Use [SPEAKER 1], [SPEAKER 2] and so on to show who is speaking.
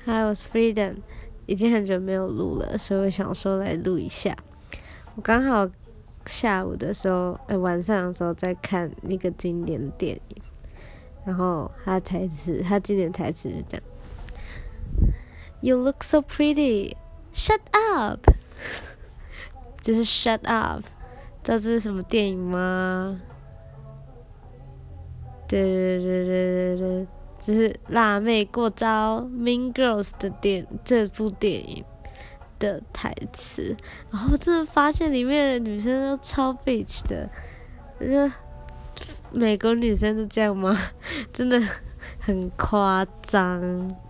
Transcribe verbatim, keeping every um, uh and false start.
[SPEAKER 1] Hi, I was Freedom，已经很久没有录了，所以我想说来录一下。我刚好下午的时候，呃、欸，晚上的时候在看那个经典的电影，然后他台词，他经典台词是这样 ：“You look so pretty, shut up。”就是 shut up， 知道这是什么电影吗？对对对对对对。只是辣妹过招 Mean Girls 的电这部电影的台词，然后真的发现里面的女生都超 bitch 的，就美国女生都这样吗？真的很夸张。